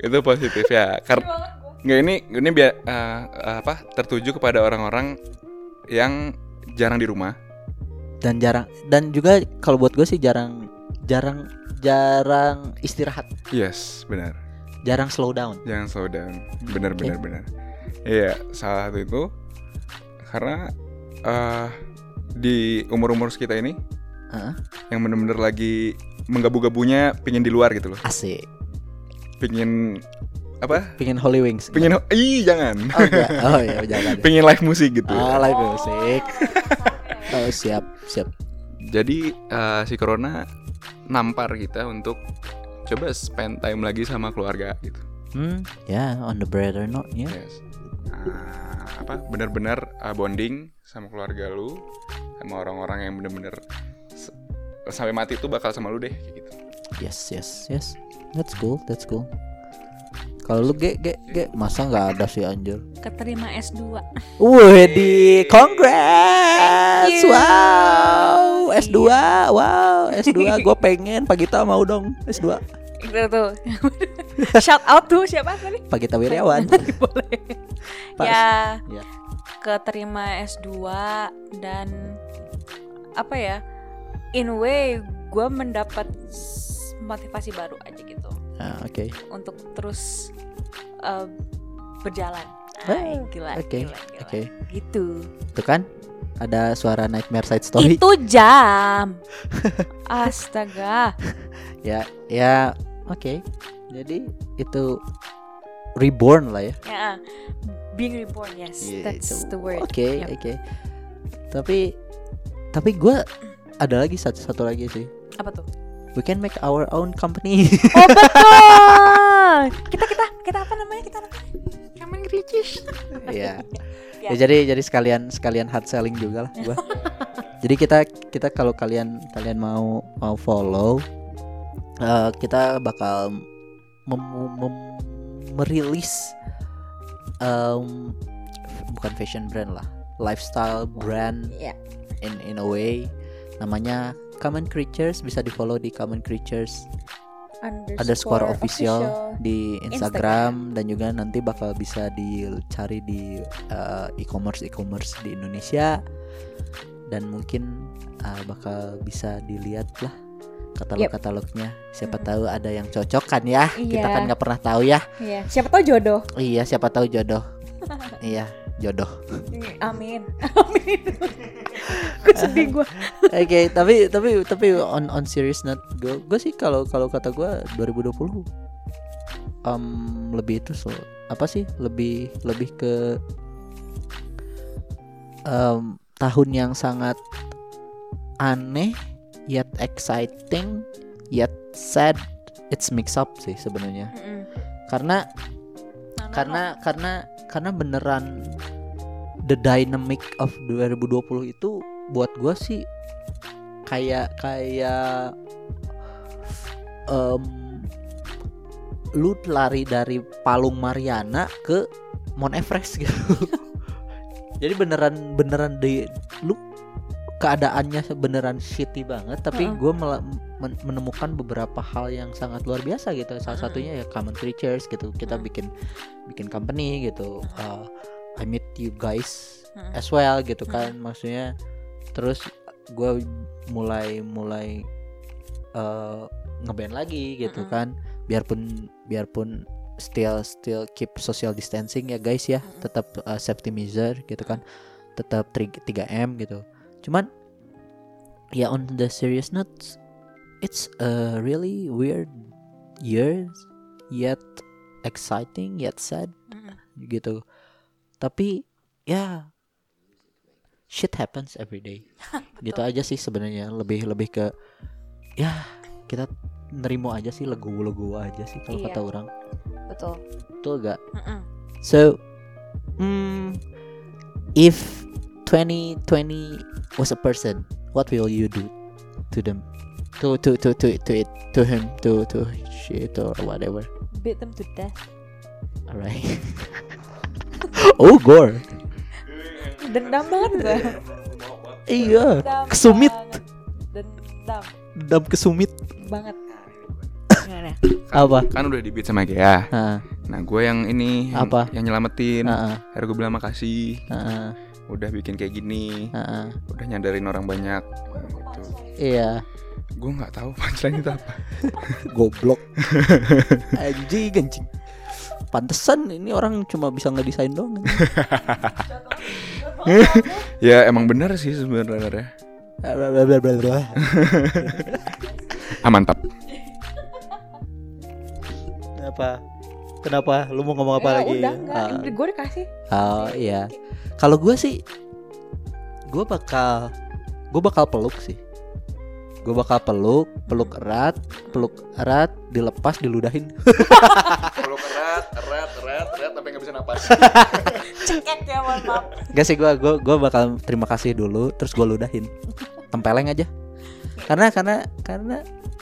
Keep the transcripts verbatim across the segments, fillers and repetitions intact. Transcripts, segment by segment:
Itu positif ya. Karena nggak ini ini biar uh, apa tertuju kepada orang-orang yang jarang di rumah dan jarang dan juga kalau buat gue sih jarang jarang jarang istirahat. Yes, benar. Jarang slow down. Jangan slow down. Benar Okay. benar benar. Iya, salah satu itu karena uh, di umur-umur kita ini Heeh. yang benar-benar lagi menggabu-gabunya pingin di luar gitu loh. Asik. Pingin apa? Pingin Holy Wings. Pingin ih jangan. Oh, enggak. Oh iya jangan. Pingin live musik gitu. Ah, live musik. Oh siap siap. Jadi uh, si Corona nampar kita untuk coba spend time lagi sama keluarga gitu. Hmm, ya yeah, on the brighter note ya. Yeah. Yes. Nah, apa benar-benar uh, bonding sama keluarga lu, sama orang-orang yang benar-benar s- sampai mati tuh bakal sama lu deh kayak gitu. Yes yes yes. That's cool, that's cool. Kalau lu ge ge ge masa nggak ada sih anjir. Keterima S dua. Wih di congrats. Thank you. Wow, S dua. Wow, S dua gue pengen Pagita mau dong S dua. Itu tuh. Shout out tuh siapa tadi? Pagita Wiryawan. Boleh. Pas. Ya. Ya. Keterima S dua dan apa ya? In a way gue mendapat s- motivasi baru aja gitu Ah, oke. untuk terus uh, berjalan. Ah, Ay, gila, oke, gila, gila. oke. Gitu. Itu kan ada suara nightmare side story. Itu jam. Astaga. Ya, ya, oke. Jadi itu reborn lah ya. Ya, being reborn, yes, Yeah, that's itu- the word. Oke, Yep. oke. Tapi tapi gue ada lagi satu satu lagi sih. Apa tuh? We can make our own company. Oh betul. Kita kita kita apa namanya kita? Kamen Ricis. Iya. Ya. Ya, jadi jadi sekalian sekalian hard selling juga lah gua. Jadi kita kita kalau kalian kalian mau mau follow eh, kita bakal mem- mem- merilis em, bukan fashion brand lah, lifestyle brand Ya. in in a way namanya Common Creatures. Bisa di follow di Common Creatures underscore official di Instagram, dan juga nanti bakal bisa dicari di uh, e-commerce e-commerce di Indonesia, dan mungkin uh, bakal bisa dilihat lah katalog-katalognya. Siapa Mm-mm. tahu ada yang cocok kan ya. Kita Iya. kan nggak pernah tahu ya. Iya. Siapa tahu jodoh. Iya, siapa tahu jodoh. Iya, jodoh. Amin. Amin. Gue sedih gue. Oke, tapi tapi tapi on on serious note, gue gue sih kalau kalau kata gue dua ribu dua puluh um, lebih itu so apa sih lebih lebih ke um, tahun yang sangat aneh yet exciting yet sad. It's mix up sih sebenarnya, karena karena karena karena beneran the dynamic of dua ribu dua puluh itu buat gue sih kayak kayak um, lu lari dari Palung Mariana ke Mount Everest gitu. Jadi beneran beneran di lu keadaannya beneran shitty banget, tapi Uh-uh. gue men- menemukan beberapa hal yang sangat luar biasa gitu. Salah Uh-uh. satunya ya Common Creatures gitu. Kita Uh-uh. bikin bikin company gitu. Uh, I meet you guys Uh-uh. as well gitu kan. Maksudnya terus gue mulai mulai uh, ngeband lagi gitu Uh-uh. kan. Biarpun biarpun still still keep social distancing ya guys ya. Uh-uh. Tetap uh, safety measure gitu kan. Tetap tiga M gitu. Cuman ya on the serious note, it's a really weird year yet exciting yet sad Mm-mm. gitu. Tapi ya shit happens every day. Gitu aja sih sebenarnya, lebih lebih ke ya kita nerimo aja sih, legowo-legowo aja sih kalau Iya. kata orang. Betul. Betul gak? Mm-mm. So, hmm, if twenty twenty was a person, what will you do to them? To to to to to it to him to to shit or whatever. Beat them to death. Alright. Oh gore. Dendam banget gue. Iya. Dendam Kesumit. banget. Dendam Dendam kesumit. banget. Nah, nah. ya? Apa? Kan udah di beat sama Gea. Heeh. Nah gue yang ini yang, Apa? yang nyelamatin. Heeh. Akhirnya gue bilang makasih. Heeh. Udah bikin kayak gini. Heeh. Udah nyadarin orang banyak gitu. Iya. Gue nggak tahu punchline itu apa. Goblok. Anjing anjing. Pantesan ini orang cuma bisa ngedesain doang. Ya emang benar sih sebenarnya. Ah mantap. Kenapa? Kenapa? Lu mau ngomong apa Ya, lagi? udah enggak, Ah. gue dikasih. Oh iya. Kalau gue sih, gue bakal, gue bakal peluk sih. Gue bakal peluk, peluk erat, peluk erat, dilepas, diludahin. Peluk erat, erat, erat, erat sampai nggak bisa napas. Cekek ya, mohon maaf. Gak sih, gue, gue, gue bakal terima kasih dulu, terus gue ludahin, tempeleng aja. Karena, karena, karena,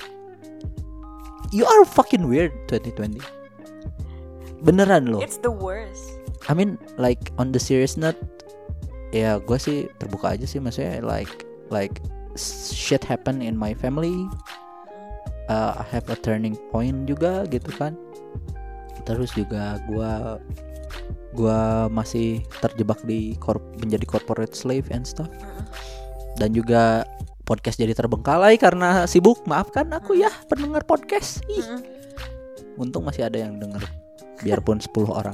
you are fucking weird twenty twenty. Beneran loh. It's the worst. I mean like on the serious note, ya gue sih terbuka aja sih, maksudnya like like shit happen in my family. Uh, I have a turning point juga gitu kan. Terus juga gue gue masih terjebak di korp, menjadi corporate slave and stuff. Dan juga podcast jadi terbengkalai karena sibuk. Maafkan aku ya pendengar podcast. Ih. Untung masih ada yang denger, biarpun sepuluh orang.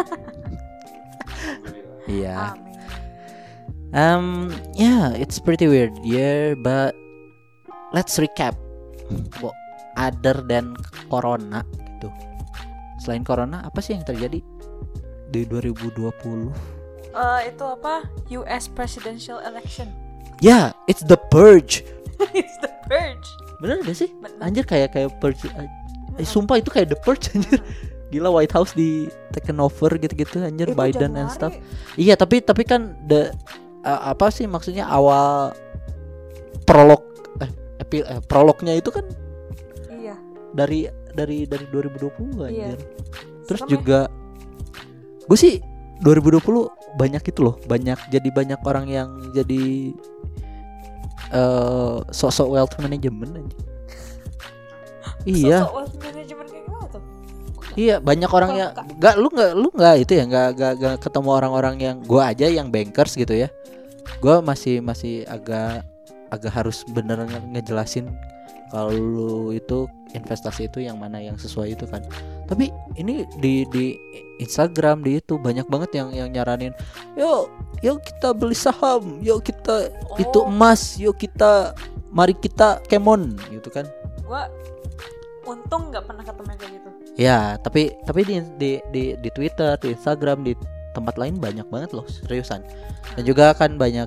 Iya. Um, yeah, it's pretty weird year, but let's recap. Bo, other than corona gitu. Selain corona, apa sih yang terjadi di dua ribu dua puluh? Uh, itu apa? U S presidential election. Ya, yeah, it's the purge. It's the purge. Bener gak sih? Bener. Anjir kayak kayak purge. Eh, sumpah itu kayak the purge anjir. Gila, White House di taken over gitu-gitu anjir, Itu Biden and Januari. stuff. Iya, tapi tapi kan the uh, apa sih maksudnya awal prolog eh, epi, eh prolognya itu kan Iya. dari dari dari dua ribu dua puluh Iya. anjir. Terus Serem ya? juga gue sih dua ribu dua puluh banyak itu loh, banyak jadi banyak orang yang jadi uh, sok-sok wealth management anjir. Iya. Sosok wealth management kayak gimana tuh? Iya, banyak orang yang Kok- nggak, lu nggak lu nggak itu ya, nggak nggak nggak ketemu orang-orang yang gua aja yang bankers gitu ya. Gua masih masih agak agak harus bener nge- ngejelasin kalau lu itu investasi itu yang mana yang sesuai itu kan. Tapi ini di di Instagram di itu banyak banget yang yang nyaranin, yuk yuk kita beli saham, yuk kita Oh. itu emas, yuk kita mari kita kemon gitu kan. Gua untung nggak pernah ketemu yang kayak gitu. Ya, tapi tapi di di di di Twitter, di Instagram, di tempat lain banyak banget loh, seriusan. Dan juga kan banyak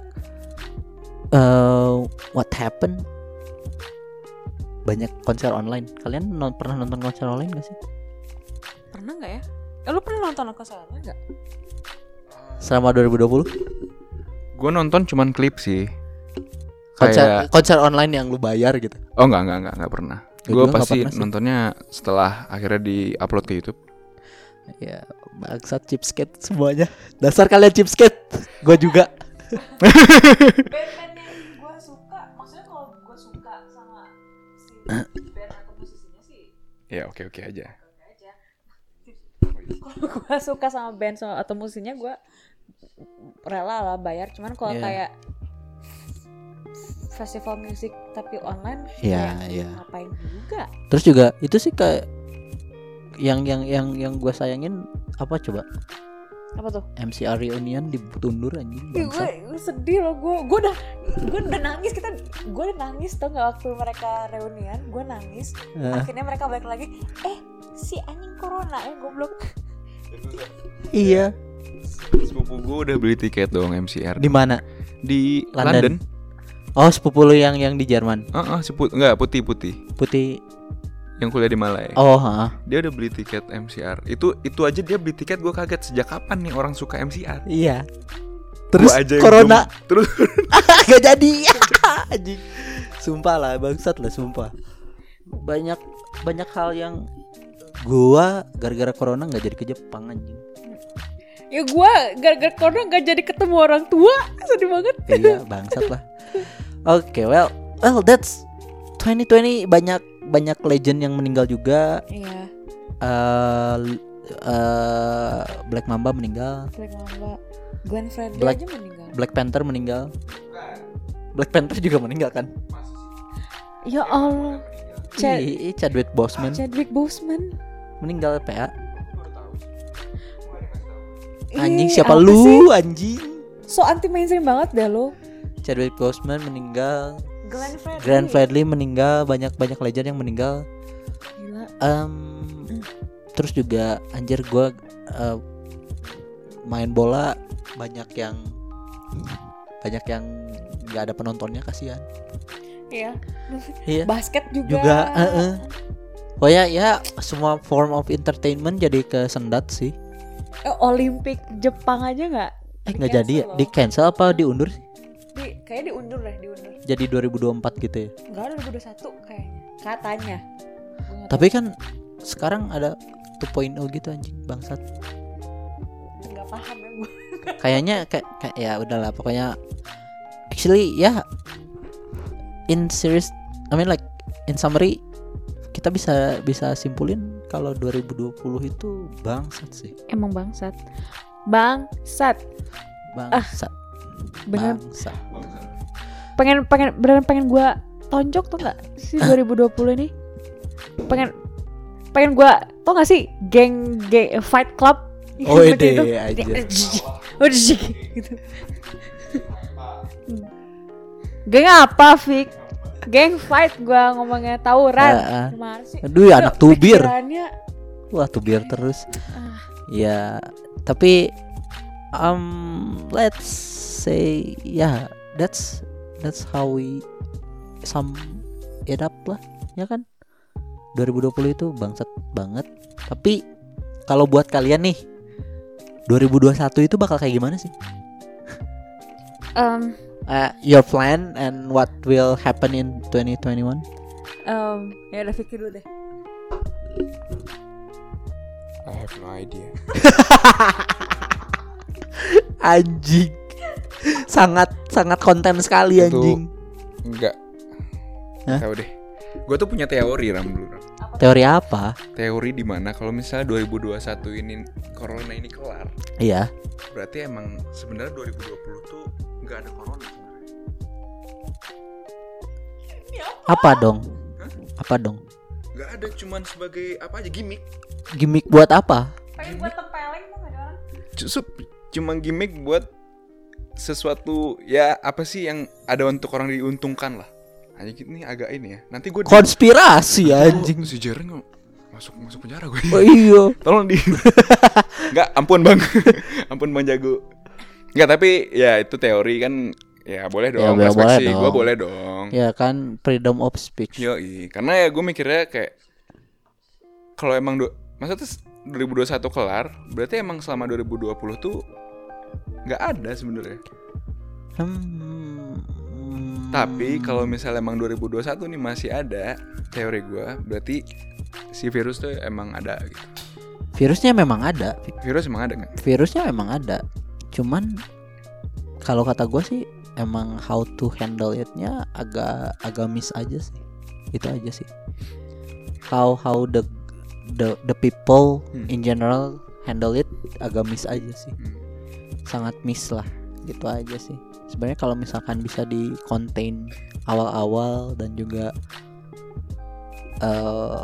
uh, what happened? Banyak konser online. Kalian non, pernah nonton konser online gak sih? Pernah nggak ya? Eh, lu pernah nonton konser nggak? Selama dua ribu dua puluh? Gue nonton cuman klip sih. Konser Kayak konser online yang lu bayar gitu. oh enggak enggak enggak enggak pernah. Ya, Gue gua nggak pasti pernah sih. nontonnya setelah akhirnya di-upload ke YouTube. Ya, bangsat chipskate semuanya. Dasar kalian chipskate. Gue juga. Band-band yang gue suka, maksudnya kalau gue suka sama si band atau musisinya sih Ya oke-oke aja. oke aja. Kalau gue suka sama band so- atau musisinya gue rela lah bayar. Cuman kalau Iya. kayak festival musik tapi online, Iya, kayak iya. ngapain juga? Terus juga itu sih kayak yang yang yang yang gue sayangin apa coba? Apa tuh? M C R reunion ditundur anjing. Ih, Bangsa. gue sedih loh, gue gue udah gue udah nangis, kita gue udah nangis tau nggak waktu mereka reunian, gue nangis. Eh. Akhirnya mereka balik lagi, eh si anjing corona ya goblok. Iya. Sepupu gue udah beli tiket dong M C R Di mana? di London. London. Oh, sepupu lu yang yang di Jerman. Heeh, seput enggak putih-putih Putih. yang kuliah di Malai. Oh, ha. Dia udah beli tiket M C R. Itu itu aja dia beli tiket, gue kaget sejak kapan nih orang suka M C R. Iya. Terus Gua aja yang corona belum- terus gak jadi. Anjing. Sumpah lah, bangsat lah sumpah. Banyak banyak hal yang gua gara-gara corona nggak jadi ke Jepang anjing. Ya gue gara-gara corona gak jadi ketemu orang tua, sedih banget. Iya, bangsat lah. Oke, well, well that's twenty twenty banyak banyak legend yang meninggal juga. Iya. Uh, uh, Black Mamba meninggal. Black Mamba. Glenn Fredly Black- aja meninggal. Black Panther meninggal. Black Panther juga meninggal kan? Ya Allah. Chad- Ih, Chadwick Boseman Chadwick Boseman. meninggal P A. Ih, Anjing siapa apa lu sih? anjing? So anti mainstream banget dah lo. Chadwick Boseman meninggal. Glenn Fredly. Glenn Fredly meninggal. Banyak-banyak legend yang meninggal. Gila. Um, terus juga anjir gue uh, main bola banyak yang banyak yang nggak ada penontonnya, kasihan. Iya. Iya. Basket juga. Juga. Uh-uh. Oh ya ya semua form of entertainment jadi kesendat sih. Eh, Olimpik Jepang aja nggak? Eh nggak jadi ya? Di cancel apa diundur sih? Di, kayaknya diundur deh, diundur. Jadi dua ribu dua puluh empat gitu ya. Enggak, dua ribu dua puluh satu kayaknya. Katanya. Gua nggak Tapi kan sekarang ada dua titik nol gitu anjing bangsat. tahu. Nggak paham ya gue. Kayaknya kayak kayak ya udahlah pokoknya actually ya in serious I mean like in summary kita bisa bisa simpulin kalau dua ribu dua puluh itu bangsat sih. Emang bangsat. Bangsat. Bangsat. Bener. Bangsat. Pengen pengen beneran pengen gue tonjok tuh nggak sih dua ribu dua puluh ini? Pengen pengen gue tau gak sih geng geng Fight Club? Oh Seperti ide itu. aja. Udah gitu. Geng apa, Fik? Geng fight gua ngomongnya tawuran. Ah, ah. Gimana sih? Aduh ya anak tubir. Pikirannya, Wah tubir terus. ah, Ya tapi um let's say ya yeah, that's that's how we sum it up lah ya kan. dua ribu dua puluh itu bangsat banget. Tapi kalau buat kalian nih dua ribu dua puluh satu itu bakal kayak gimana sih? um, Uh, your plan and what will happen in twenty twenty-one? um, ya udah pikir dulu deh. I have no idea. Anjing. Sangat sangat konten sekali Itu- anjing. Enggak. Hah? Tahu deh. Gue tuh punya teori Ram dulu Ram. Teori apa? Teori di mana kalau misalnya dua ribu dua puluh satu ini corona ini kelar, Iya. berarti emang sebenarnya dua ribu dua puluh tuh nggak ada corona sebenarnya. Apa dong? Apa dong? Nggak ada, cuman sebagai apa aja gimmick. Gimik buat apa? Pengen buat tempeleng tuh nggak ada orang? Justru cuma gimmick buat sesuatu ya apa sih yang ada untuk orang diuntungkan lah. Hanya ini agak ini ya. Nanti gue Konspirasi anjing. si Jaren nggak masuk masuk penjara gue. Oh iya. Tolong di. Nggak, ampun bang, ampun bang jago. Nggak, tapi ya itu teori kan. Ya boleh dong, Ya, boleh perspektif dong. gue boleh dong. Ya kan freedom of speech. Yoi, karena ya gue mikirnya kayak kalau emang du- maksudnya dua ribu dua puluh satu kelar, berarti emang selama dua ribu dua puluh tuh nggak ada sebenarnya. Hmm. Tapi kalau misalnya emang dua ribu dua puluh satu nih masih ada, teori gue berarti si virus tuh emang ada gitu. Virusnya memang ada. Virus emang ada nggak? Virusnya memang ada. Cuman kalau kata gue sih emang how to handle it-nya agak agak miss aja sih. Itu aja sih. How how the the the people Hmm. in general handle it agak miss aja sih. Hmm. Sangat miss lah. Gitu aja sih. Sebenarnya kalau misalkan bisa di contain awal-awal dan juga uh,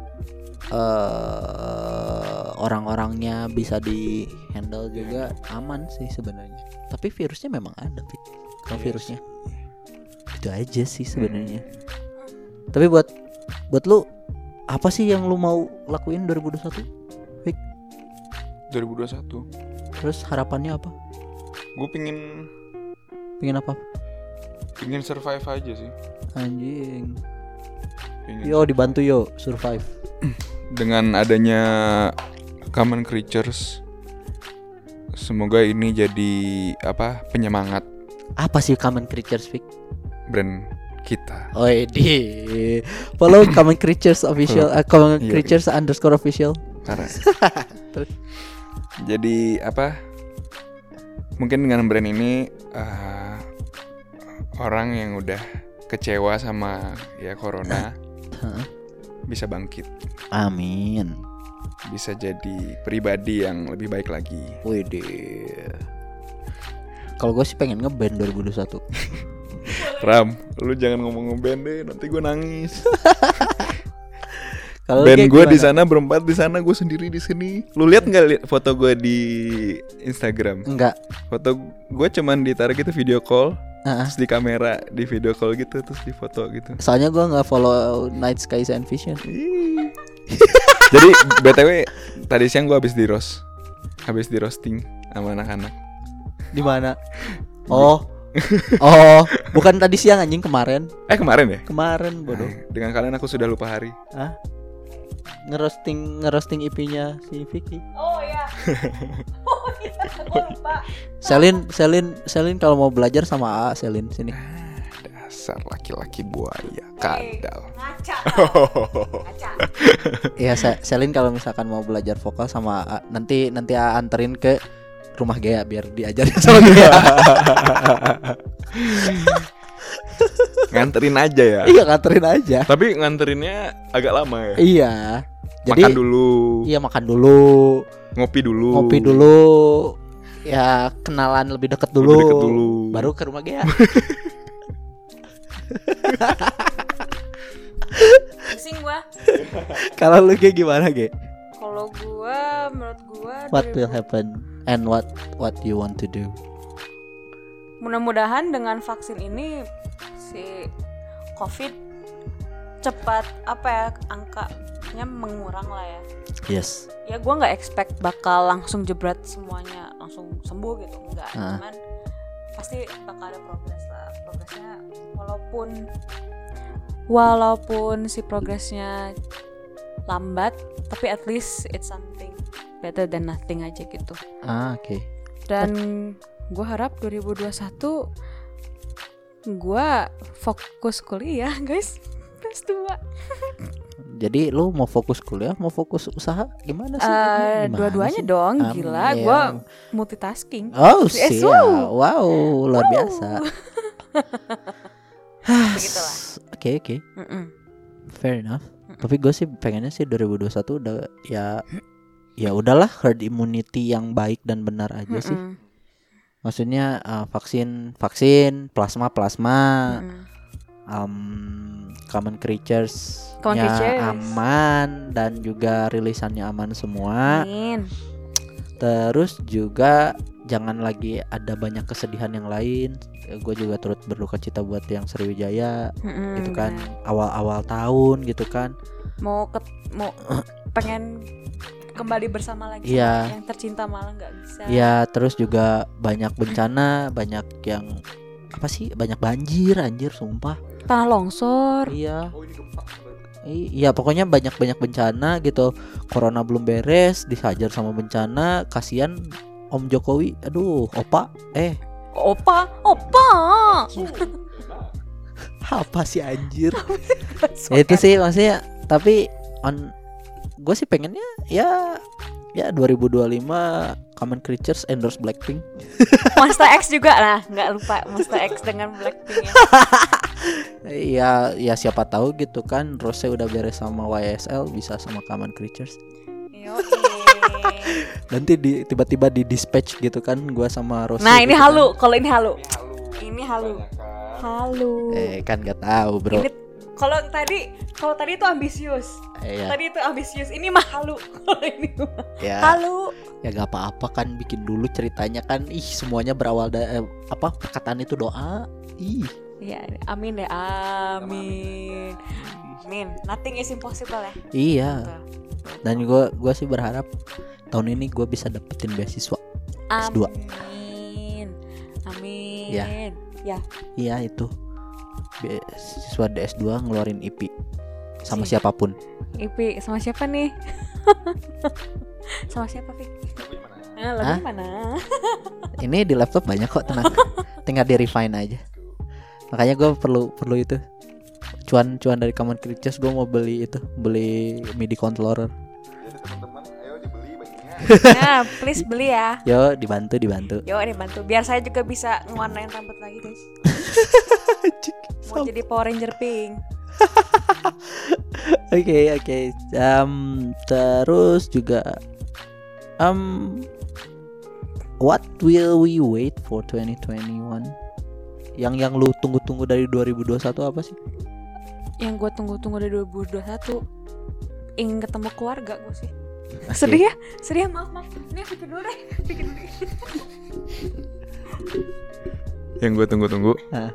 uh, orang-orangnya bisa di handle juga aman sih sebenarnya. Tapi virusnya memang ada, Fit. Kalau virusnya itu aja sih sebenarnya. Tapi buat buat lu apa sih yang lu mau lakuin dua ribu dua puluh satu? Fik? dua ribu dua puluh satu Terus harapannya apa? gue pingin Pengen apa? pingin survive aja sih. Anjing. Pingin. Yo dibantu yo survive. Dengan adanya Common Creatures, semoga ini jadi apa penyemangat Apa sih Common Creatures, Fik? brand kita. Oh di follow Common Creatures official, uh, Common Iya, Creatures underscore official. Karena Terus? jadi apa? Mungkin dengan brand ini uh, orang yang udah kecewa sama ya corona, Hah? bisa bangkit, Amin. bisa jadi pribadi yang lebih baik lagi. Widih. Kalau gue sih pengen ngeband dua ribu dua puluh satu. Ram, lu jangan ngomong ngeband deh, nanti gue nangis. Kalau Band kayak gue di gimana? sana berempat, di sana gue sendiri di sini. Lu lihat nggak li- foto gue di Instagram? Enggak. Foto gue cuman ditaruh gitu video call, Heeh. terus di kamera di video call gitu, terus di foto gitu. Soalnya gue nggak follow Night Skies and Vision. Ih. Jadi B T W tadi siang gue habis di roast, habis di roasting sama anak-anak. Di mana? Oh. Oh, bukan tadi siang anjing, kemarin. Eh kemarin ya? Kemarin bodoh. Nah, dengan kalian aku sudah lupa hari. Hah? Ngerosting ngerosting I P-nya si Vicky. Oh ya. Oh iya, gue lupa. Selin, Selin, Selin kalau mau belajar sama A, Selin sini. Dasar laki-laki buaya, kadal. Ngaca. Ngaca. Iya, Se- Selin kalau misalkan mau belajar vokal sama A, nanti nanti A anterin ke rumah Gea biar diajarin sama Gea. Nganterin aja ya. Iya, nganterin aja. Tapi nganterinnya agak lama ya. Iya. Jadi Makan dulu, iya makan dulu, ngopi dulu, ngopi dulu, ya kenalan lebih deket dulu, Lebih deket dulu. baru ke rumah Gea. Pusing gua. Kalau lu kayak gimana, Ge? Kalau gua, menurut gua What dua ribu will happen and what what you want to do? mudah-mudahan dengan vaksin ini si COVID cepat apa ya angkanya mengurang lah ya. Yes. Ya gue nggak expect bakal langsung jebret semuanya langsung sembuh gitu, enggak. Ah. Cuman pasti bakal ada progres lah. Progresnya walaupun walaupun si progresnya lambat, tapi at least it's something better than nothing aja gitu. Ah, oke. Okay. Dan gue harap dua ribu dua puluh satu gue fokus kuliah guys, S dua. Jadi lu mau fokus kuliah, mau fokus usaha, gimana sih? Uh, Gimana dua-duanya sih? dong, Um, gila. iya. Gue multitasking. Oh, Yes, sih. wow. Wow, luar biasa. Begitulah. Oke, oke. Mm-mm. Fair enough. Tapi gue sih pengennya sih dua ribu dua puluh satu udah ya ya udahlah herd immunity yang baik dan benar aja sih. Mm-mm. Maksudnya uh, vaksin vaksin, plasma plasma, Mm-mm. um, common creatures Common creatures. aman dan juga rilisannya aman semua. Amin. Terus juga jangan lagi ada banyak kesedihan yang lain. Gue juga turut berduka cita buat yang Sriwijaya Mm-mm, gitu kan, bener. awal-awal tahun gitu kan. Mau ke, mau pengen kembali bersama lagi Iya. sama yang tercinta malah nggak bisa. Ya terus juga banyak bencana, banyak yang apa sih, banyak banjir anjir sumpah. Tanah longsor. Iya. I- Iya pokoknya banyak-banyak bencana gitu. Corona belum beres, dihajar sama bencana. Kasihan Om Jokowi. Aduh, opa. Eh, Opa, opa. apa sih anjir? Ya itu sih maksudnya. Tapi on gue sih pengennya ya ya dua ribu dua puluh lima Common Creatures endorse Blackpink. Monster X juga lah, nggak lupa Monster X dengan Blackpink ya. Iya, ya siapa tahu gitu kan. Rose udah beres sama Y S L, bisa sama Common Creatures. Yoi. Nanti di, tiba-tiba di dispatch gitu kan gua sama Rose. Nah ini gitu halu, kan. kalau ini halu. Ini halu. Halu. Eh kan gak tahu bro. Ini kalau tadi kalau tadi itu ambisius. Eh, ya, Tadi itu ambisius, ini mah halu. Kalau ini mah ya, halu. ya gak apa-apa kan, bikin dulu ceritanya kan. Ih semuanya berawal dari eh, apa perkataan itu doa. Ih. Ya, amin deh, amin. Amin. Nothing is impossible ya. Iya. Tuh. Dan gua gua sih berharap tahun ini gua bisa dapetin beasiswa S dua. Amin. Amin. Ya. Ya. Iya itu. Beasiswa D S dua ngeluarin I P sama Si. siapapun. I P sama siapa nih? Sama siapa, Fik? Eh, lagu Hah? mana? Ini di laptop banyak kok, tenang. Tinggal di refine aja. Makanya gue perlu perlu itu cuan-cuan dari Common Creatures. Gue mau beli itu, beli MIDI controller. Jadi teman-teman, ayo dibeli bajunya. Nah, please beli ya. Yo dibantu dibantu. Yuk dibantu. Biar saya juga bisa ngewarnain rambut lagi, guys. Mau jadi Power Ranger pink. Oke oke. Um, terus juga um what will we wait for twenty twenty-one? Yang yang lu tunggu-tunggu dari dua ribu dua puluh satu apa sih? Yang gue tunggu-tunggu dari dua ribu dua puluh satu ingin ketemu keluarga gue sih. Oke. Sedih ya? Sedih ya, maaf maaf. Ini pikir dulu deh. Pikir dulu. Yang gue tunggu-tunggu Hah.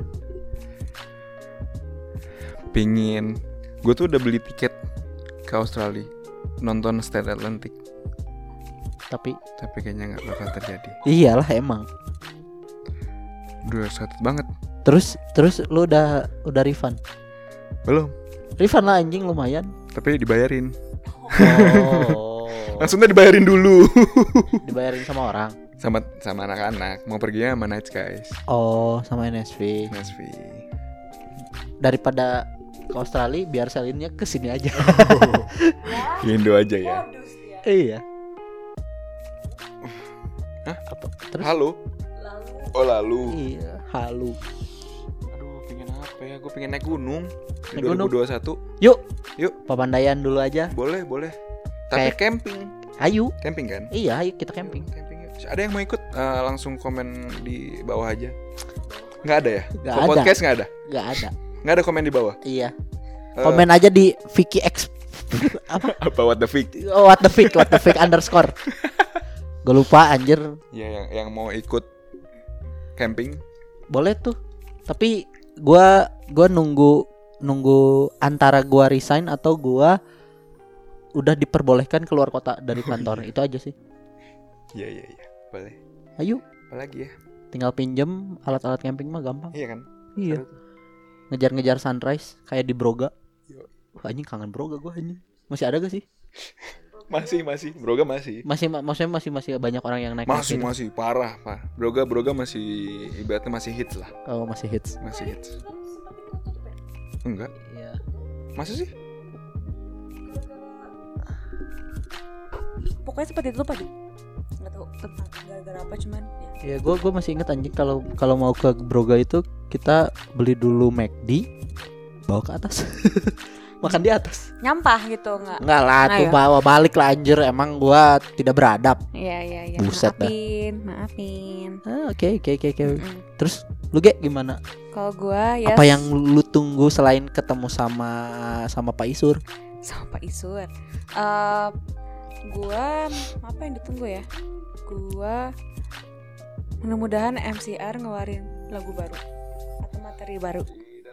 pingin, gue tuh udah beli tiket ke Australia nonton Stand Atlantic, Tapi tapi kayaknya nggak bakal terjadi. iyalah emang. Udah excited banget. Terus terus lu udah udah refund? Belum, Refund lah anjing lumayan. tapi dibayarin. Oh. Langsungnya dibayarin dulu. Dibayarin sama orang. sama sama anak-anak mau pergi sama Night Skies, Oh, sama N S V. N S V. Daripada ke Australia biar selinnya ke sini aja. Ke Indo aja ya. Iya. Hah? Apa? Terus? Halo. Oh lalu. Iya, halu. Aduh, pengen apa ya? Gue pengen naik gunung di Naik gunung? dua ribu dua puluh satu. Yuk. Yuk. Papandayan dulu aja. Boleh, boleh. Tapi Kayak- camping. Ayo. Camping kan? Iya, ayo kita camping. Camping. yuk. Ada yang mau ikut? Eh, langsung komen di bawah aja. Nggak ada ya? Nggak Ke ada. podcast nggak ada? Gak ada. Nggak ada komen di bawah? Iya. Eh, Komen aja di Vicky X apa? apa what the fuck? Oh, what the fic, what the fic underscore. Gue lupa anjir. Ya yang yang mau ikut camping. Boleh tuh. Tapi gua gua nunggu nunggu antara gua resign atau gua udah diperbolehkan keluar kota dari kantor. Itu aja sih. Iya iya iya. Boleh. Ayo, Apalagi ya? tinggal pinjem alat-alat camping mah gampang. Iya kan? Iya. Seru tuh. Ngejar-ngejar sunrise kayak di Broga. Yo. Wah, anjing kangen Broga gua anjing. Masih ada gak sih? Masih masih. Broga masih. Masih ma- maksudnya masih masih banyak orang yang naik. Masih gitu. masih parah pak. Broga Broga masih ibaratnya masih hits lah. Oh, masih hits. Masih hits. Enggak. Iya. Masa sih? Pokoknya seperti itu Pak. Nggak tahu tentang gara-gara apa cuman ya. Ya gue gue masih inget anjing kalau kalau mau ke Broga itu kita beli dulu McD bawa ke atas. Makan di atas. Nyampah gitu nggak? Enggak lah tuh Ayo. bawa balik lah anjir, emang gua tidak beradab. Iya iya iya. Buset dah. maafin, maafin. Ah, Oke oke oke oke. Mm-mm. Terus lu Ge gimana? Kalau gua ya Apa yang lu tunggu selain ketemu sama sama Pak Isur? sama Pak Isur. Eh, gua apa yang ditunggu ya? Gua mudah-mudahan M C R ngeluarin lagu baru atau materi baru.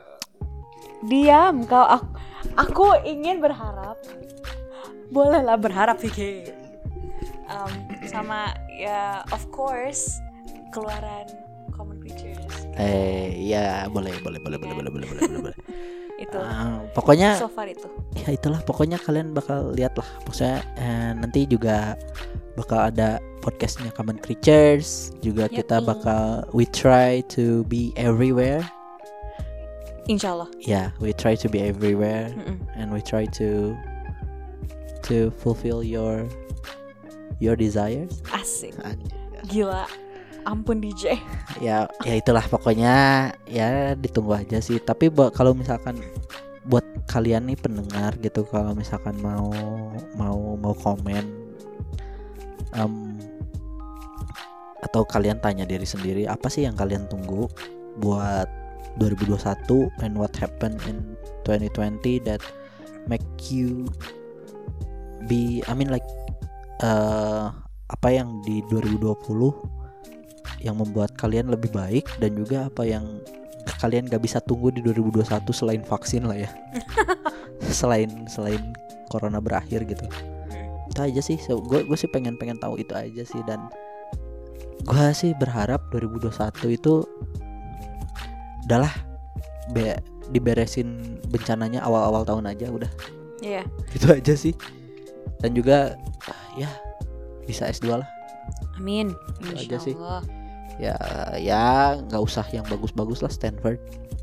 Diam kau, aku, aku ingin berharap. Bolehlah berharap Vicky. Um, sama ya of course keluaran Common Creatures. Eh ya boleh boleh boleh boleh boleh boleh boleh boleh. Itu Ah, pokoknya so far itu. ya itulah pokoknya kalian bakal lihat lah. Maksudnya eh, nanti juga bakal ada podcastnya Common Creatures juga. Yoi. Kita bakal we try to be everywhere. Insyaallah. Yeah, we try to be everywhere Mm-mm. and we try to to fulfill your your desires. Asik. Anjing. Gila. Ampun D J. Ya ya itulah pokoknya ya ditunggu aja sih. Tapi bu- kalau misalkan buat kalian nih pendengar gitu, kalau misalkan mau mau mau komen um, atau kalian tanya diri sendiri apa sih yang kalian tunggu buat dua ribu dua puluh satu and what happened in twenty twenty that make you be I mean like uh, apa yang di dua ribu dua puluh yang membuat kalian lebih baik, dan juga apa yang kalian gak bisa tunggu di dua ribu dua puluh satu selain vaksin lah ya. selain selain corona berakhir gitu. Itu aja sih. So, gue gue sih pengen pengen tahu itu aja sih, dan gue sih berharap dua ribu dua puluh satu itu udahlah be, diberesin bencananya awal-awal tahun aja udah. Iya. Itu aja sih. Dan juga ya bisa S dua lah. Amin. Itu aja sih. Insyaallah. Ya ya nggak usah yang bagus-bagus lah Stanford.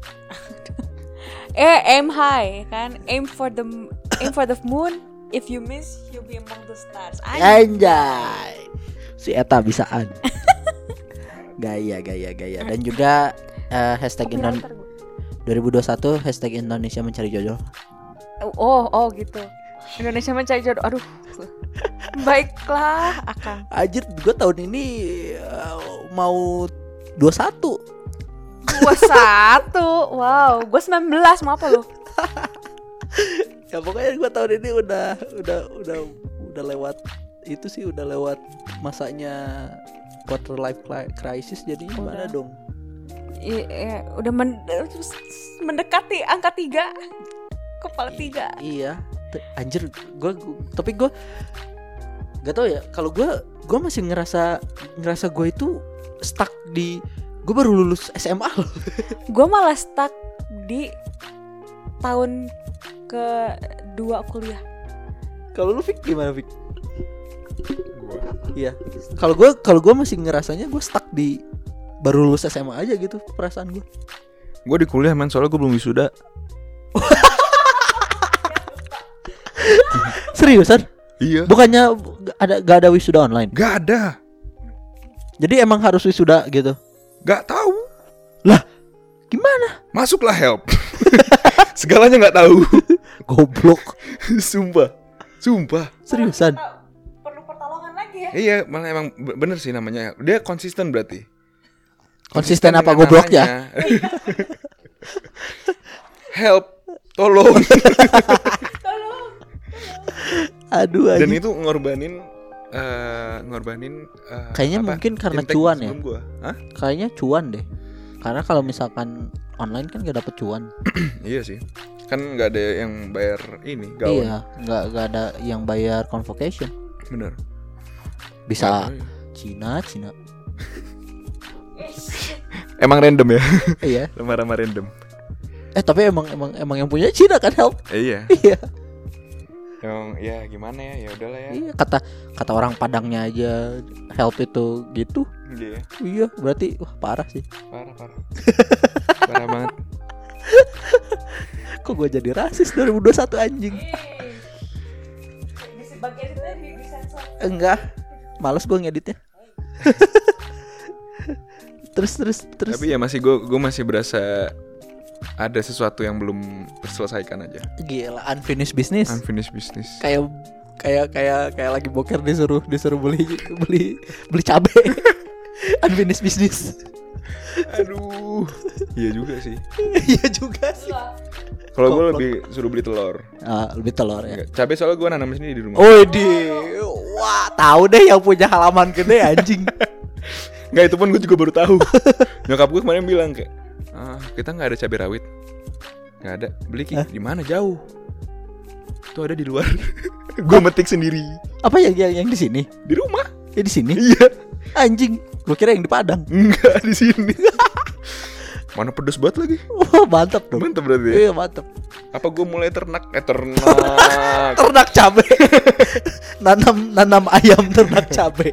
Eh, aim high kan? Aim for the aim for the moon. If you miss, you'll be among the stars. Anjay. Si Eta bisaan. Gaya gaya gaya. Dan juga eh, hashtag Indo- Copywriter gua. dua ribu dua puluh satu hashtag Indonesia mencari jodoh. Oh, oh gitu. Indonesia mencari jodoh. Aduh. Baiklah, Akang. Anjir, gue tahun ini uh, mau dua puluh satu. dua puluh satu. Wow, gue sembilan belas, mau apa lu? Ya pokoknya gue tahun ini udah udah udah udah lewat itu sih, udah lewat masanya quarter life crisis, jadi gimana dong? Iya, udah men- mendekati angka tiga, kepala tiga. I- iya, T- anjir, gue tapi gue gak tau ya. Kalau gue gue masih ngerasa ngerasa gue itu stuck di gue baru lulus S M A loh. Gue malah stuck di tahun kedua kuliah. Kalau lu Fik gimana Fik? Gua. Iya. Kalau gue kalau gue masih ngerasanya gue stuck di baru lulus S M A aja gitu perasaan gue. Gue di kuliah man, soalnya gue belum wisuda. Seriusan? Iya. Bukannya ada gak ada wisuda online? Gak ada. Jadi emang harus wisuda gitu? Gak tahu. Lah, gimana? Masuklah help. Segalanya nggak tahu. Goblok. Sumpah. Sumpah. Seriusan? Perlu pertolongan lagi ya? Iya, malah emang bener sih namanya. Dia konsisten berarti. Konsisten apa dengan gobloknya? namanya. Help, tolong. Aduh Dan anjing. itu ngorbanin uh, ngorbanin uh, Kayaknya apa? mungkin karena Intake cuan ya. sebelum gua. Hah? Kayaknya cuan deh. Karena kalau misalkan online kan gak dapet cuan. Iya sih. Kan nggak ada yang bayar ini gaun. Iya, nggak nggak ada yang bayar convocation. Bener. Bisa Nggak tahu ya. Cina, Cina. Emang random ya. Iya. Lama-lama random. Eh tapi emang emang emang yang punya Cina kan help. Eh, iya. Iya. Emang ya gimana ya? Ya udahlah ya. Iya, kata kata orang Padangnya aja help itu gitu. Iya. Iya, berarti wah parah sih. Parah parah. Parah banget. Kok gue jadi rasis dua ribu dua puluh satu anjing? Di bagian itu di disensor. Enggak. Males gue ngeditnya. terus terus terus. Tapi ya masih gue gue masih berasa ada sesuatu yang belum terselesaikan aja. Gila, unfinished business. Unfinished business. Kayak kayak kayak kayak lagi boker disuruh disuruh beli beli beli cabai. Unfinished business. Aduh. Iya juga sih. Iya juga sih. Kalau gue Goblok. lebih suruh beli telur. Ah, lebih telur ya. Enggak, cabai soalnya gue nanam sendiri di rumah. Oh di, wah tahu deh yang punya halaman gede anjing. Enggak, itu pun gue juga baru tahu. Nyokap gue kemarin bilang kayak, ah, kita nggak ada cabai rawit. Nggak ada. Beli Ki, di mana jauh? Itu ada di luar. Gue metik sendiri Apa yang yang, yang di sini? di rumah. Ya di sini? Iya. Anjing, gue kira yang di Padang. Enggak di sini. Mana pedes banget lagi. Wah mantap dong. Mantap berarti ya? Iya mantap. Apa gue mulai ternak? Eh ternak. Ternak cabe. nanam nanam ayam ternak cabe.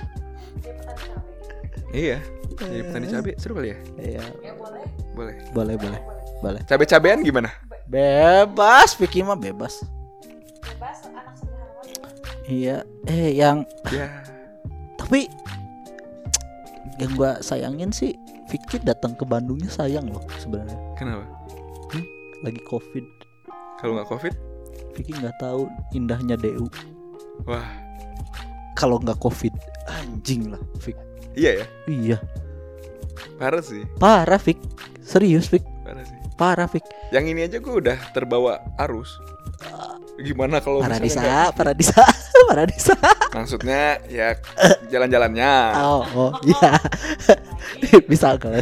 Iya. Jadi petani cabai seru kali ya? Iya. Boleh. Boleh boleh boleh. Cabai-cabean gimana? Bebas, Vicky mah bebas. Bebas anak sederhana. Iya. Eh yang Ya. tapi yang gua sayangin sih Vicky datang ke Bandungnya sayang loh sebenarnya. Kenapa? Hmm? Lagi Covid. Kalau nggak Covid? Vicky nggak tahu indahnya D U. Wah. Kalau nggak Covid, anjing lah, Vicky. Iya ya. Iya. Parah sih. Parah, Vic. Serius, Vic. Parah sih. Parah, Vic. Yang ini aja gue udah terbawa arus. Gimana kalau misalnya Paradisa, nggak- Paradisa, Paradisa. Maksudnya ya jalan-jalannya. Oh, oh, iya. Bisa kelas.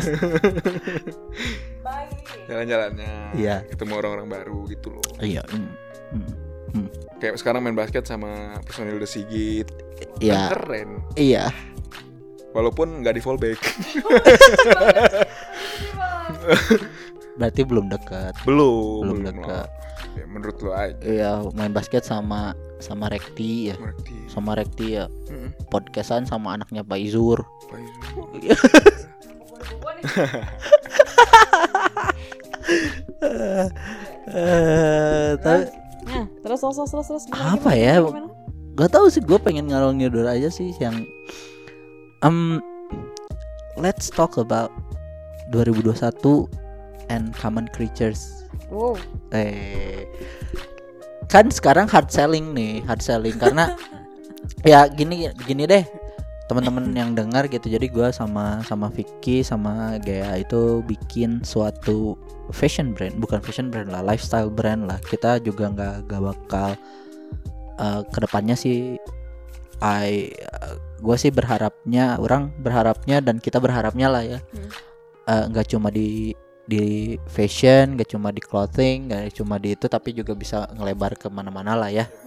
Jalan-jalannya. Iya. Ketemu orang-orang baru gitu loh. Iya. mm, mm, mm. Kayak sekarang main basket sama personil The Sigit. Iya. Kan keren. Iya. Walaupun nggak di fallback. Berarti belum dekat. belum. Belum lah. dekat. Ya, menurut lo aja. Iya, main basket sama sama Rekti ya. Ngerti. Sama Rekti ya. Mm-mm. Podcastan sama anaknya Pak Izur. Pak Yusuf. Eh, tapi Nah, terus terus terus terus. Gimana, apa gimana, ya? gimana? Gak tahu sih, gue pengen ngalor ngidul aja sih yang um let's talk about dua ribu dua puluh satu and Common Creatures. Wow. Eh, kan sekarang hard selling nih, hard selling karena ya gini gini deh teman-teman yang dengar gitu. Jadi gue sama sama Vicky sama Gea itu bikin suatu fashion brand, bukan fashion brand lah, lifestyle brand lah. Kita juga nggak nggak bakal uh, kedepannya sih, I uh, gue sih berharapnya, orang berharapnya dan kita berharapnya lah ya, nggak hmm. uh, cuma di di fashion, gak cuma di clothing, gak cuma di itu, tapi juga bisa ngelebar kemana-mana lah ya.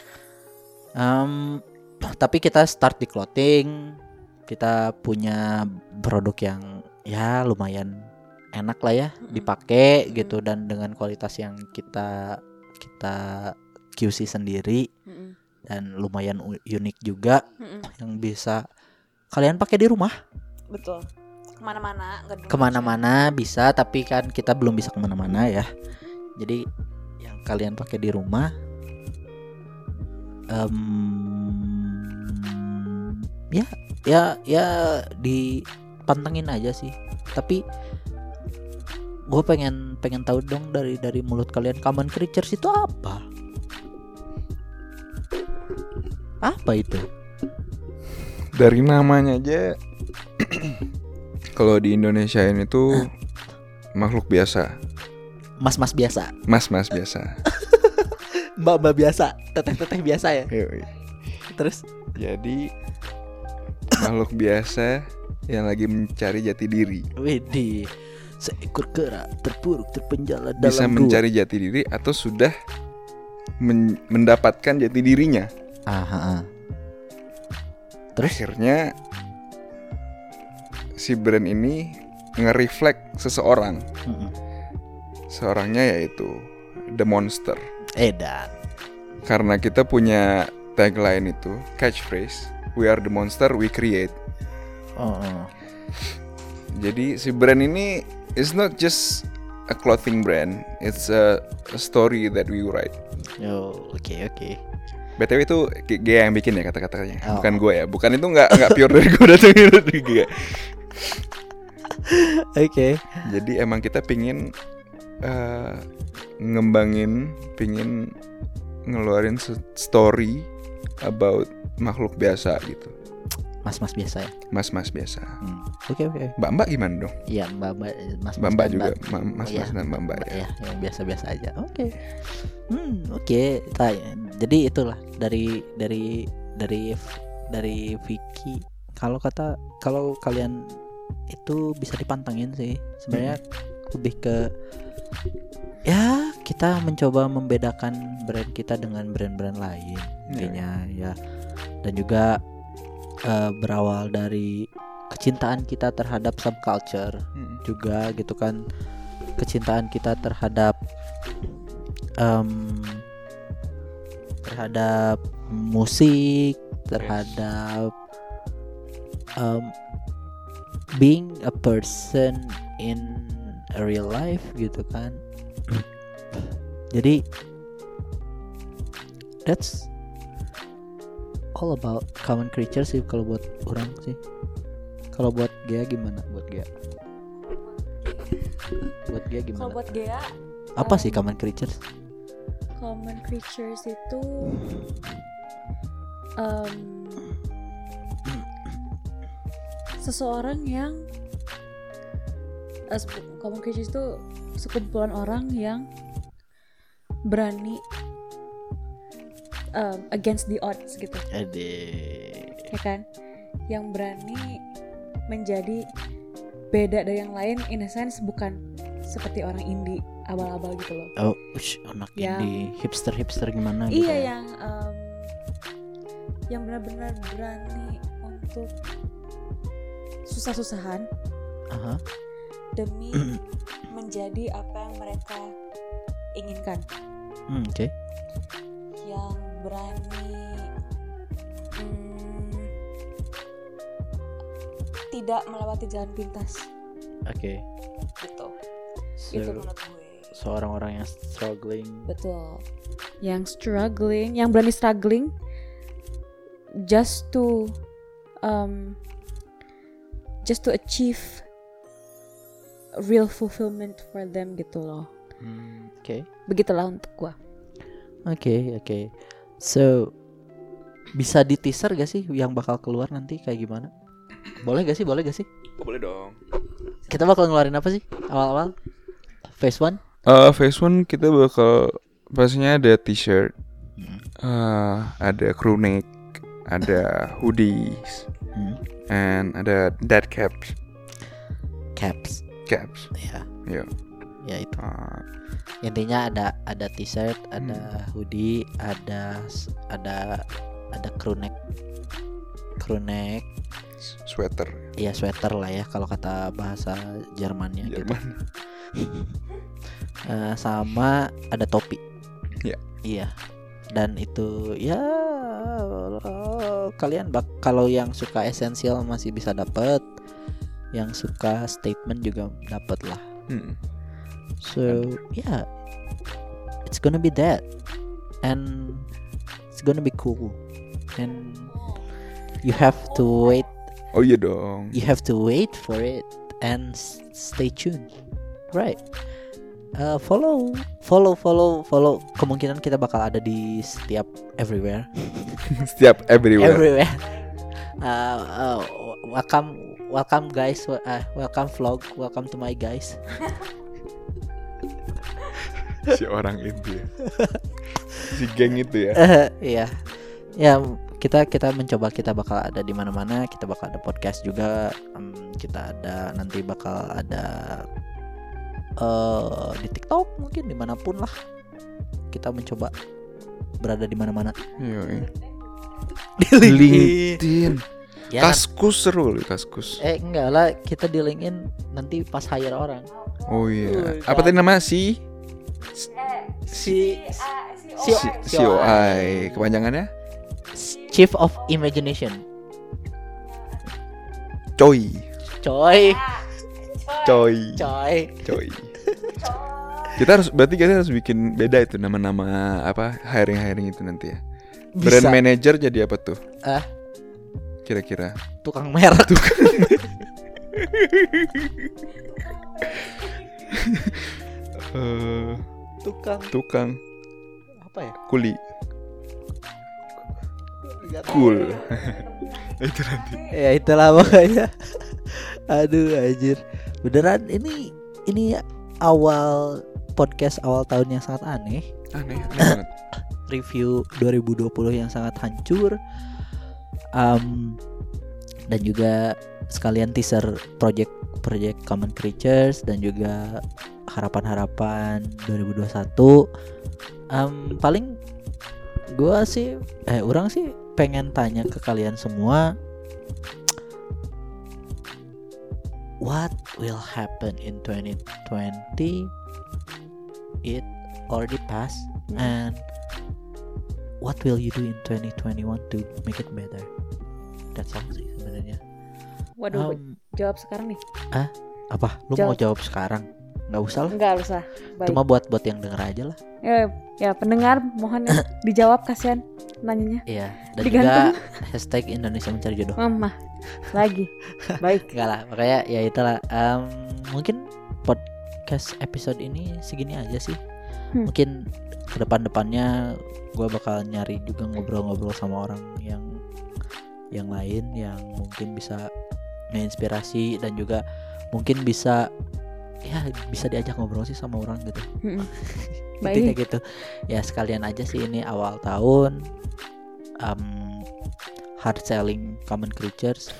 Um, tapi kita start di clothing, kita punya produk yang ya lumayan enak lah ya dipakai gitu, dan dengan kualitas yang kita kita Q C sendiri dan lumayan unik juga, yang bisa kalian pakai di rumah. Betul. Kemana-mana, kemana-mana bisa, tapi kan kita belum bisa kemana-mana ya. Jadi yang kalian pakai di rumah, um, ya ya ya dipantengin aja sih. Tapi gue pengen pengen tahu dong dari dari mulut kalian, Common Creatures itu apa? Apa itu? Dari namanya aja. Kalau di Indonesia ini tuh makhluk biasa. Mas-mas biasa. Mas-mas biasa. Mbak-mbak biasa, teteh-teteh biasa ya. Yoi. Terus jadi makhluk biasa yang lagi mencari jati diri. Widih, seekor kera terpuruk terpenjara dalam bisa mencari gua. Jati diri atau sudah men- mendapatkan jati dirinya. Aha. Terus akhirnya si brand ini nge-reflect seseorang. Mm-mm. Seorangnya yaitu The Monster. Edan. Karena kita punya tagline itu, catchphrase, we are the monster we create. Oh, oh. Jadi si brand ini is not just a clothing brand, it's a, a story that we write. Oh, oke okay, oke. Okay. B T W itu G yang bikin ya kata-katanya, oh. bukan gue ya. Bukan, itu nggak nggak pure dari gue, datangin dari G. Oke. Okay. Jadi emang kita pingin uh, ngembangin, pingin ngeluarin story about makhluk biasa gitu. Mas-mas biasa ya. Mas-mas biasa. Hmm. Oke okay, oke. Okay. Mbak-mbak gimana dong? Iya mbak-mbak, mas-mas. Mbak-mbak juga, Ma- mas-mas ya, dan mbak-mbak ya. Ya, yang biasa-biasa aja. Oke. Okay. Hmm, oke. Okay. Jadi itulah dari dari dari dari Vicky. Kalau kata kalau kalian itu bisa dipantengin sih sebenarnya, hmm. lebih ke ya kita mencoba membedakan brand kita dengan brand-brand lain intinya yeah. ya, dan juga uh, berawal dari kecintaan kita terhadap subculture hmm. juga gitu kan, kecintaan kita terhadap um, terhadap musik, terhadap um, being a person in a real life gitu kan. Jadi that's all about Common Creatures sih kalau buat orang sih. Kalau buat Gea gimana? Buat Gea? Buat Gea gimana? Kalau buat Gea apa um, sih Common Creatures? Common Creatures itu um, seseorang yang uh, Common Creatures itu sekumpulan orang yang berani um, against the odds gitu. Adik. Ya kan? Yang berani menjadi beda dari yang lain, in a sense bukan seperti orang indie abal-abal gitu loh. Oh, ush, anak yang, indie hipster-hipster gimana iya, gitu. Iya, yang um, yang benar-benar berani untuk susah-susahan. Uh-huh. Demi menjadi apa yang mereka inginkan. Hmm, oke. Okay. Yang berani hmm, tidak melewati jalan pintas. Oke. Okay. Gitu. So, itu menurut gue. Seorang orang yang struggling. Betul. Yang struggling, yang berani struggling just to um just to achieve real fulfillment for them gitu loh. Hmm, Oke. Begitulah untuk gua. Oke, oke. So bisa di teaser gak sih yang bakal keluar nanti kayak gimana? Boleh gak sih? Boleh gak sih? Boleh dong. Kita bakal ngeluarin apa sih awal-awal? Phase one? Uh, phase one kita bakal pastinya ada t-shirt, uh, ada crew neck, ada hoodies, Hmm. and ada dad caps. Caps. Caps. Ya, Ya. ya itu. Uh, Intinya ada ada t-shirt, ada hoodie, ada ada ada crew neck. Crew neck. sweater. Iya, sweater lah ya kalau kata bahasa Jermannya gitu. Jerman. Eh, sama ada topi. Iya. Iya. Dan itu ya kalian bak kalau yang suka esensial masih bisa dapat, yang suka statement juga dapat lah. Hmm. So yeah, it's gonna be that, and it's gonna be cool, and you have to wait. Oh iya dong. You have to wait for it and s- stay tuned, right? Uh, follow, follow, follow, follow. Kemungkinan kita bakal ada di setiap everywhere, Setiap everywhere. everywhere. Uh, uh, welcome, welcome guys. Wel- Uh, welcome vlog. Welcome to my guys. Si orang itu ya. Si geng itu ya. Eh, iya, ya kita kita mencoba, kita bakal ada di mana-mana. Kita bakal ada podcast juga. Em, kita ada nanti bakal ada eh di TikTok mungkin dimanapun lah. Kita mencoba berada di mana-mana. Yoi. Di LinkedIn. Ya, kan? Kaskus seru loh, Kaskus. Eh enggak lah, kita di LinkedIn nanti pas hire orang. Oh iya. Udah. Apa tadi nama si Si si C O I kepanjangannya? Chief of Imagination. Coy. Coy, Coy. coy. Coy. Kita harus berarti kita harus bikin beda itu nama-nama apa hiring-hiring itu nanti ya. Brand Bisa. manager jadi apa tuh? Ah, Kira-kira. tukang merek. Eh, Tukang tukang apa ya? kuli. Cool. Itu nanti. Ya itulah pokoknya. Aduh anjir. Beneran ini ini awal podcast awal tahun yang sangat aneh. Aneh, aneh banget. Review dua ribu dua puluh yang sangat hancur. Um, dan juga sekalian teaser project project Common Creatures dan juga harapan-harapan dua ribu dua puluh satu. Um, paling gua sih eh orang sih pengen tanya ke kalian semua, what will happen in twenty twenty? It already passed, and what will you do in twenty twenty-one to make it better? That's all sih sebenarnya. Waduh, Um, jawab sekarang nih. apa? Lu mau jawab sekarang? Nggak usah lah. Enggak usah. Baik. Cuma buat buat yang denger aja lah. Ya, ya pendengar mohon ya, dijawab, kasihan nanyanya. Iya. Dan Digantung. juga hashtag Indonesia mencari jodoh. Mama lagi. Baik. Enggak lah, makanya ya itulah. Em, mungkin podcast episode ini segini aja sih. Hmm. Mungkin ke depan-depannya gue bakal nyari juga ngobrol-ngobrol sama orang yang yang lain yang mungkin bisa menginspirasi dan juga mungkin bisa ya bisa diajak ngobrol sih sama orang gitu. Mm-mm. Intinya Baik. gitu. Ya sekalian aja sih ini awal tahun, um, hard selling Common Creatures.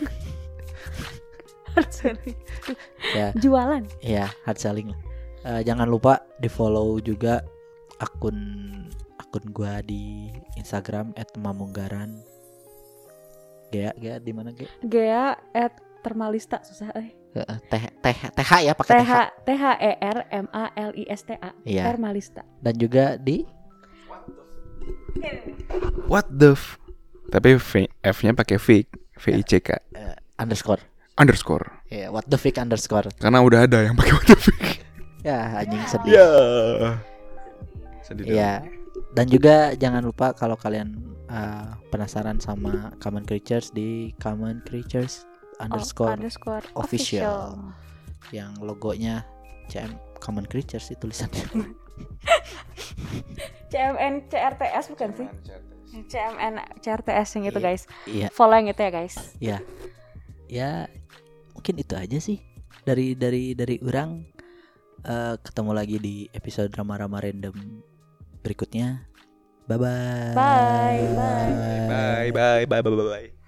Ya, Jualan. ya hard selling lah. Eh, jangan lupa di follow juga akun akun gua di Instagram et mamunggaran. Gea, Gea di mana Gea? Gea at termalista susah eh. Eh, Teh Teh TH ya T pakai H TH. T H E R M A L I S T A. Iya. Termalista. Dan juga di What the f Tapi V, F-nya pakai V, V I C K eh, underscore. underscore. Ya, what the fuck underscore. Karena udah ada yang pakai what the f. Ya, anjing sedih. Ya. Sedih. Iya. Dan juga jangan lupa kalau kalian uh, penasaran sama Common Creatures di Common Creatures underscore underscore official. yang logonya C M Common Creatures itu tulisannya. C M N C R T S bukan sih? C M N C R T S yang itu Iya. guys. Iya, Follow yang itu ya guys. ya. Ya, mungkin itu aja sih dari dari dari orang. Eh, ketemu lagi di episode Rama-Rama Random berikutnya. Bye bye. Bye bye. Bye bye bye bye bye bye.